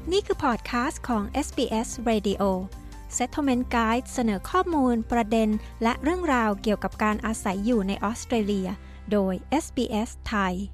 นี่คือพอดคาสต์ของ SBS Radio Settlement Guide เสนอข้อมูลประเด็นและเรื่องราวเกี่ยวกับการอาศัยอยู่ในออสเตรเลียโดย SBS ไทย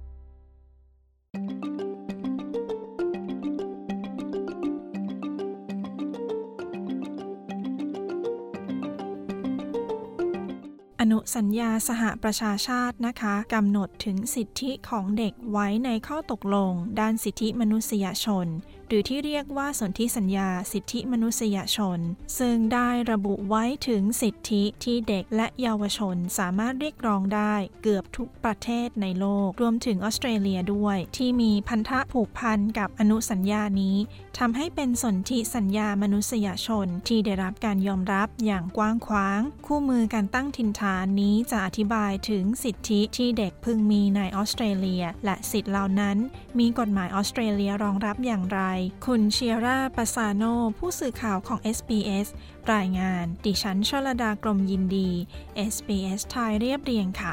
อนุสัญญาสหประชาชาตินะคะกำหนดถึงสิทธิของเด็กไว้ในข้อตกลงด้านสิทธิมนุษยชนหรือที่เรียกว่าสนธิสัญญาสิทธิมนุษยชนซึ่งได้ระบุไว้ถึงสิทธิที่เด็กและเยาวชนสามารถเรียกร้องได้เกือบทุกประเทศในโลกรวมถึงออสเตรเลียด้วยที่มีพันธะผูกพันกับอนุสัญญานี้ทำให้เป็นสนธิสัญญามนุษยชนที่ได้รับการยอมรับอย่างกว้างขวางคู่มือการตั้งถิ่นฐานนี้จะอธิบายถึงสิทธิที่เด็กพึงมีในออสเตรเลียและสิทธิเหล่านั้นมีกฎหมายออสเตรเลียรองรับอย่างไรคุณเชียร่าปาซาโนผู้สื่อข่าวของ SBS รายงานดิฉันชลดากรมยินดี SBS ไทยเรียบเรียงค่ะ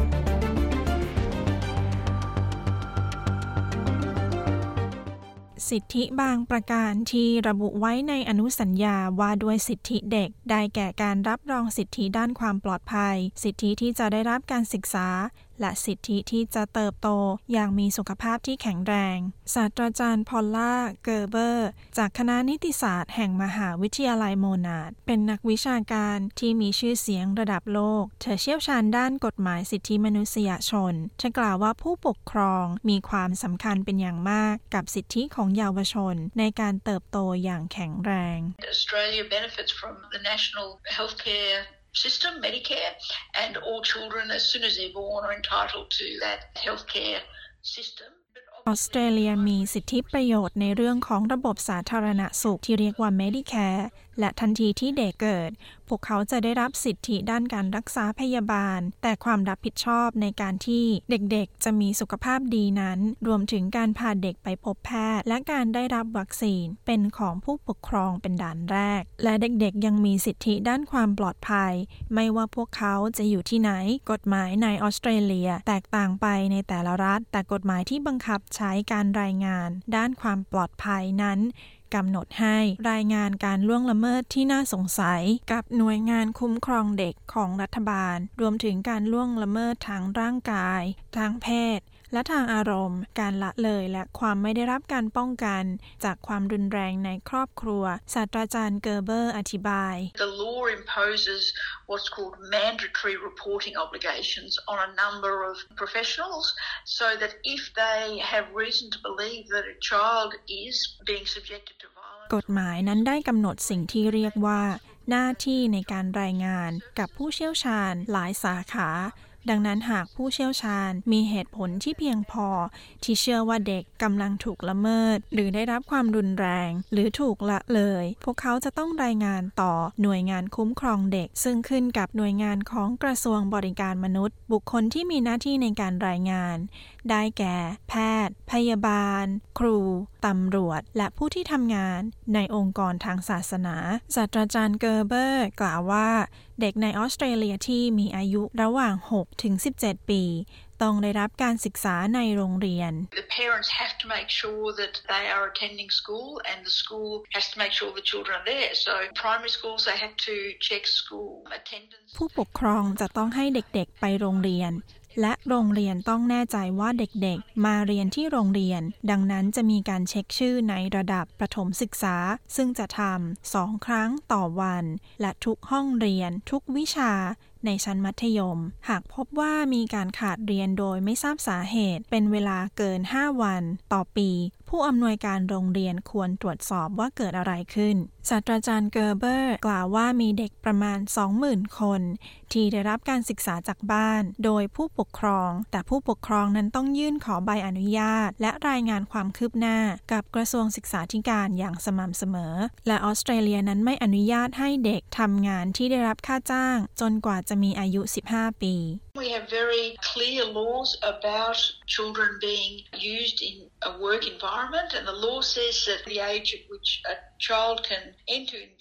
สิทธิบางประการที่ระบุไว้ในอนุสัญญาว่าด้วยสิทธิเด็กได้แก่การรับรองสิทธิด้านความปลอดภัยสิทธิที่จะได้รับการศึกษาและสิทธิที่จะเติบโตอย่างมีสุขภาพที่แข็งแรงศาสตราจารย์พอลล่าเกอร์เบอร์จากคณะนิติศาสตร์แห่งมหาวิทยาลัยโมนาร์ดเป็นนักวิชาการที่มีชื่อเสียงระดับโลกเธอเชี่ยวชาญด้านกฎหมายสิทธิมนุษยชนเธอกล่าวว่าผู้ปกครองมีความสำคัญเป็นอย่างมากกับสิทธิของเยาวชนในการเติบโตอย่างแข็งแรง Australia benefits from the national healthcare system, Medicare, and all children as soon as they're born are entitled to that healthcare system. ออสเตรเลียมีสิทธิประโยชน์ในเรื่องของระบบสาธารณสุขที่เรียกว่า Medicare และทันทีที่เด็กเกิดพวกเขาจะได้รับสิทธิด้านการรักษาพยาบาลแต่ความรับผิดชอบในการที่เด็กๆจะมีสุขภาพดีนั้นรวมถึงการพาเด็กไปพบแพทย์และการได้รับวัคซีนเป็นของผู้ปกครองเป็นด่านแรกและเด็กๆยังมีสิทธิด้านความปลอดภัยไม่ว่าพวกเขาจะอยู่ที่ไหนกฎหมายในออสเตรเลียแตกต่างไปในแต่ละรัฐแต่กฎหมายที่บังคับใช้การรายงานด้านความปลอดภัยนั้นกำหนดให้รายงานการล่วงละเมิดที่น่าสงสัยกับหน่วยงานคุ้มครองเด็กของรัฐบาลรวมถึงการล่วงละเมิดทางร่างกายทางเพศและทางอารมณ์การละเลยและความไม่ได้รับการป้องกันจากความรุนแรงในครอบครัวศาสตราจารย์เกอร์เบอร์อธิบาย The law imposes what's called mandatory reporting obligations on a number of professionals so that if they have reason to believe that a child is being subjected to violence กฎหมายนั้นได้กำหนดสิ่งที่เรียกว่าหน้าที่ในการรายงานกับผู้เชี่ยวชาญหลายสาขาดังนั้นหากผู้เชี่ยวชาญมีเหตุผลที่เพียงพอที่เชื่อว่าเด็กกำลังถูกละเมิดหรือได้รับความรุนแรงหรือถูกละเลยพวกเขาจะต้องรายงานต่อหน่วยงานคุ้มครองเด็กซึ่งขึ้นกับหน่วยงานของกระทรวงบริการมนุษย์บุคคลที่มีหน้าที่ในการรายงานได้แก่แพทย์พยาบาลครูตำรวจและผู้ที่ทำงานในองค์กรทางศาสนาศาสตราจารย์เกอร์เบอร์กล่าวว่าเด็กในออสเตรเลียที่มีอายุระหว่าง6 ถึง 17 ปีต้องได้รับการศึกษาในโรงเรียน The parents have to make sure that they are attending school and the school has to make sure the children are there. So primary schools they have to check school attendance. ผู้ปกครองจะต้องให้เด็กๆไปโรงเรียนและโรงเรียนต้องแน่ใจว่าเด็กๆมาเรียนที่โรงเรียนดังนั้นจะมีการเช็คชื่อในระดับประถมศึกษาซึ่งจะทำ2 ครั้งต่อวันและทุกห้องเรียนทุกวิชาในชั้นมัธยมหากพบว่ามีการขาดเรียนโดยไม่ทราบสาเหตุเป็นเวลาเกิน5 วันต่อปีผู้อำนวยการโรงเรียนควรตรวจสอบว่าเกิดอะไรขึ้นศาสตราจารย์เกอร์เบอร์กล่าวว่ามีเด็กประมาณ 20,000 คนที่ได้รับการศึกษาจากบ้านโดยผู้ปกครองแต่ผู้ปกครองนั้นต้องยื่นขอใบอนุญาตและรายงานความคืบหน้ากับกระทรวงศึกษาธิการอย่างสม่ำเสมอและออสเตรเลียนั้นไม่อนุญาตให้เด็กทำงานที่ได้รับค่าจ้างจนกว่าจะมีอายุ15 ปี We have very clear laws about children being used in a work environment and the law says that the age at which a child can enter into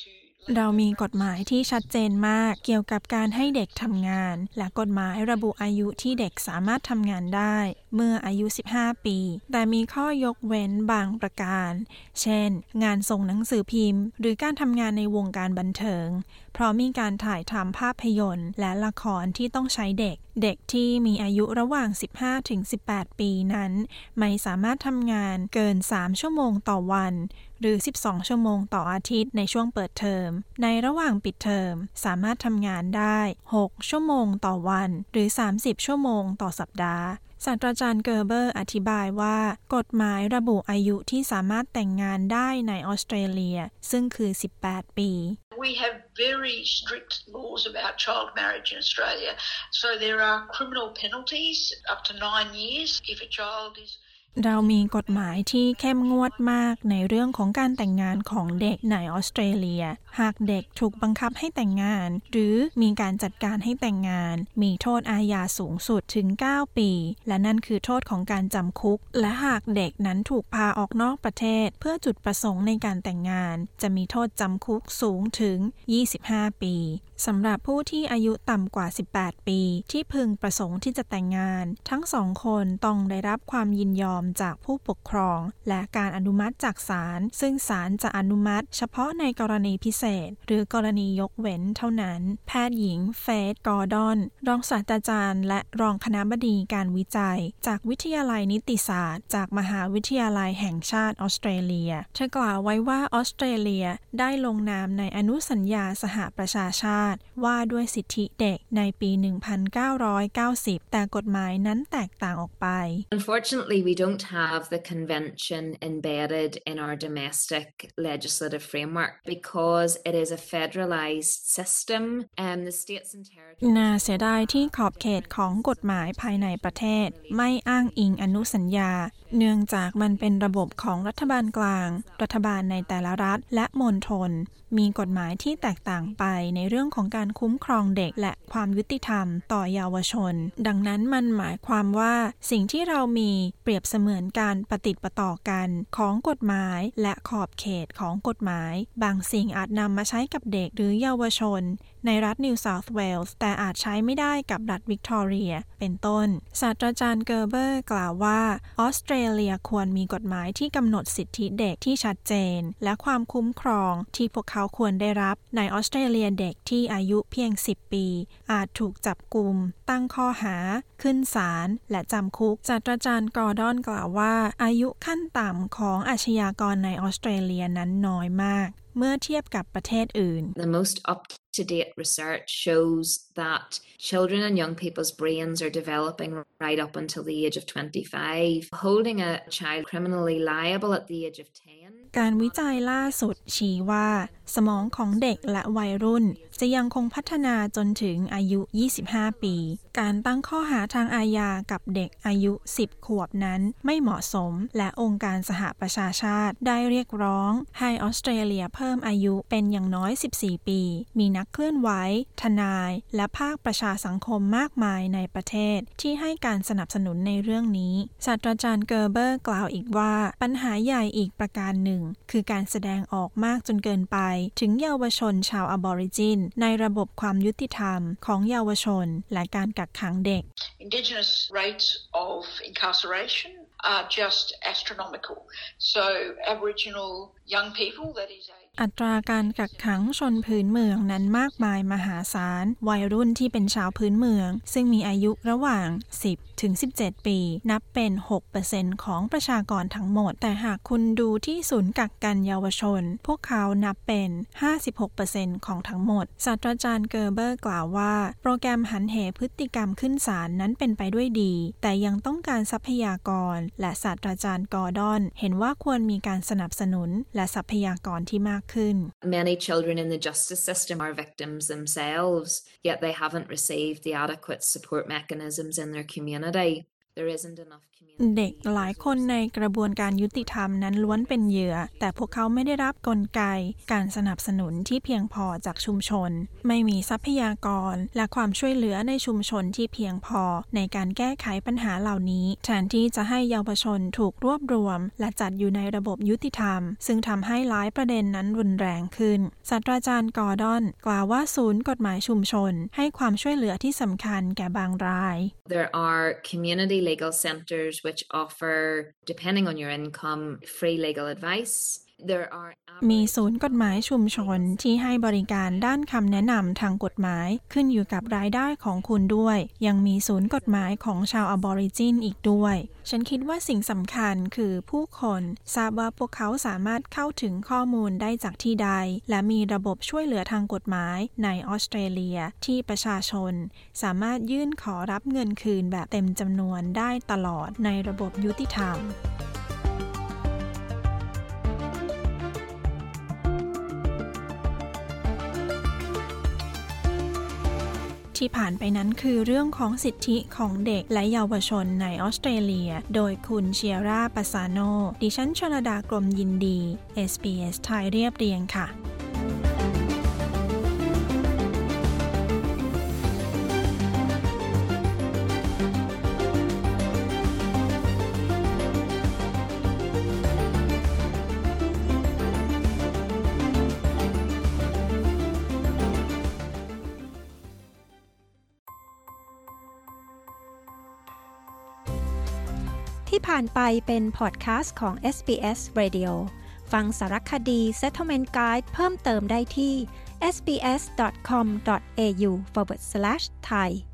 เรามีกฎหมายที่ชัดเจนมากเกี่ยวกับการให้เด็กทำงานและกฎหมายระบุอายุที่เด็กสามารถทำงานได้เมื่ออายุ15 ปีแต่มีข้อยกเว้นบางประการเช่นงานส่งหนังสือพิมพ์หรือการทำงานในวงการบันเทิงเพราะมีการถ่ายทำภาพยนตร์และละครที่ต้องใช้เด็กที่มีอายุระหว่าง15-18 ปีนั้นไม่สามารถทำงานเกิน3 ชั่วโมงต่อวันหรือ12 ชั่วโมงต่ออาทิตย์ในช่วงเปิดเทอมในระหว่างปิดเทอมสามารถทำงานได้6 ชั่วโมงต่อวันหรือ30 ชั่วโมงต่อสัปดาห์ศาสตราจารย์เกอร์เบอร์อธิบายว่ากฎหมายระบุอายุที่สามารถแต่งงานได้ในออสเตรเลียซึ่งคือ18 ปี We have very strict laws about child marriage in Australia. So there are criminal penalties up to 9 years if a child is เรามีกฎหมายที่เข้มงวดมากในเรื่องของการแต่งงานของเด็กในออสเตรเลียหากเด็กถูกบังคับให้แต่งงานหรือมีการจัดการให้แต่งงานมีโทษอาญาสูงสุดถึง9 ปีและนั่นคือโทษของการจำคุกและหากเด็กนั้นถูกพาออกนอกประเทศเพื่อจุดประสงค์ในการแต่งงานจะมีโทษจำคุกสูงถึง25 ปีสำหรับผู้ที่อายุต่ำกว่า18 ปีที่พึงประสงค์ที่จะแต่งงานทั้ง2 คนต้องได้รับความยินยอมจากผู้ปกครองและการอนุมัติจากศาลซึ่งศาลจะอนุมัติเฉพาะในกรณีพิเศษหรือกรณียกเว้นเท่านั้นแพทย์หญิงเฟธกอร์ดอนรองศาสตราจารย์และรองคณบดีการวิจัยจากวิทยาลัยนิติศาสตร์จากมหาวิทยาลัยแห่งชาติออสเตรเลียเธอกล่าวไว้ว่าออสเตรเลียได้ลงนามในอนุสัญญาสหประชาชาติว่าด้วยสิทธิเด็กในปี 1990 แต่กฎหมายนั้นแตกต่างออกไป Unfortunately, we don't have the convention embedded in our domestic legislative framework because it is a federalized system and the states and territories น่าเสียดายที่ขอบเขตของกฎหมายภายในประเทศไม่อ้างอิงอนุสัญญาเนื่องจากมันเป็นระบบของรัฐบาลกลางรัฐบาลในแต่ละรัฐและมณฑลมีกฎหมายที่แตกต่างไปในเรื่องของการคุ้มครองเด็กและความยุติธรรมต่อเยาวชนดังนั้นมันหมายความว่าสิ่งที่เรามีเปรียบเสมือนการปฏิปต่อกันของกฎหมายและขอบเขตของกฎหมายบางสิ่งอาจนำมาใช้กับเด็กหรือเยาวชนในรัฐนิวเซาท์เวลส์แต่อาจใช้ไม่ได้กับรัฐวิกตอเรียเป็นต้นศาสตราจารย์เกอร์เบอร์กล่าวว่าออสเตรเลียควรมีกฎหมายที่กำหนดสิทธิเด็กที่ชัดเจนและความคุ้มครองที่พวกเขาควรได้รับในออสเตรเลียเด็กที่อายุเพียง10 ปีอาจถูกจับกุมตั้งข้อหาขึ้นศาลและจำคุกศาสตราจารย์กอร์ดอนกล่าวว่าอายุขั้นต่ำของอาชญากรในออสเตรเลียนั้นน้อยมากเมื่อเทียบกับประเทศอื่น The most up-to-date research shows that children and young people's brains are developing right up until the age of 25. Holding a child criminally liable at the age of 10. การวิจัยล่าสุดชี้ว่าสมองของเด็กและวัยรุ่นจะยังคงพัฒนาจนถึงอายุ25 ปีการตั้งข้อหาทางอาญากับเด็กอายุ10 ขวบนั้นไม่เหมาะสมและองค์การสหประชาชาติได้เรียกร้องให้ออสเตรเลียเพิ่มอายุเป็นอย่างน้อย14 ปีมีนักเคลื่อนไหวทนายและภาคประชาสังคมมากมายในประเทศที่ให้การสนับสนุนในเรื่องนี้ศาสตราจารย์เกอร์เบอร์กล่าวอีกว่าปัญหาใหญ่อีกประการหนึ่งคือการแสดงออกมากจนเกินไปถึงเยาวชนชาวอบอริจินในระบบความยุติธรรมของเยาวชนและการกักขังเด็ก Indigenous rates of incarceration are just astronomical. So Aboriginal young people, that is a อัตราการกักขังชนพื้นเมืองนั้นมากมายมหาศาลวัยรุ่นที่เป็นชาวพื้นเมืองซึ่งมีอายุระหว่าง10 ถึง 17 ปีนับเป็น 6% ของประชากรทั้งหมดแต่หากคุณดูที่ศูนย์กักกันเยาวชนพวกเขานับเป็น 56% ของทั้งหมดศาสตราจารย์เกอร์เบอร์กล่าวว่าโปรแกรมหันเหพฤติกรรมขึ้นศาลนั้นเป็นไปด้วยดีแต่ยังต้องการทรัพยากรและศาสตราจารย์กอร์ดอนเห็นว่าควรมีการสนับสนุนและทรัพยากรที่มากขึ้น Many children in the justice system are victims themselves, yet they haven't received the adequate support mechanisms in their community. there isn't enough เด็กหลายคนในกระบวนการยุติธรรมนั้นล้วนเป็นเหยื่อแต่พวกเขาไม่ได้รับกลไกการสนับสนุนที่เพียงพอจากชุมชนไม่มีทรัพยากรและความช่วยเหลือในชุมชนที่เพียงพอในการแก้ไขปัญหาเหล่านี้แทนที่จะให้เยาวชนถูกรวบรวมและจัดอยู่ในระบบยุติธรรมซึ่งทำให้หลายประเด็นนั้นรุนแรงขึ้นศาสตราจารย์กอร์ดอนกล่าวว่าศูนย์กฎหมายชุมชนให้ความช่วยเหลือที่สำคัญแก่บางราย There are community legal centers which offer, depending on your income, free legal advice. มีศูนย์กฎหมายชุมชนที่ให้บริการด้านคำแนะนำทางกฎหมายขึ้นอยู่กับรายได้ของคุณด้วยยังมีศูนย์กฎหมายของชาวอบอริจินอีกด้วยฉันคิดว่าสิ่งสำคัญคือผู้คนทราบว่าพวกเขาสามารถเข้าถึงข้อมูลได้จากที่ใดและมีระบบช่วยเหลือทางกฎหมายในออสเตรเลียที่ประชาชนสามารถยื่นขอรับเงินคืนแบบเต็มจำนวนได้ตลอดในระบบยุติธรรมที่ผ่านไปนั้นคือเรื่องของสิทธิของเด็กและเยาวชนในออสเตรเลียโดยคุณเชียร่าปาซาโนดิฉันชลดากรมยินดี SBS ไทยเรียบเรียงค่ะที่ผ่านไปเป็นพอดแคสต์ของ SBS Radio ฟังสารคดี Settlement Guide เพิ่มเติมได้ที่ sbs.com.au/thai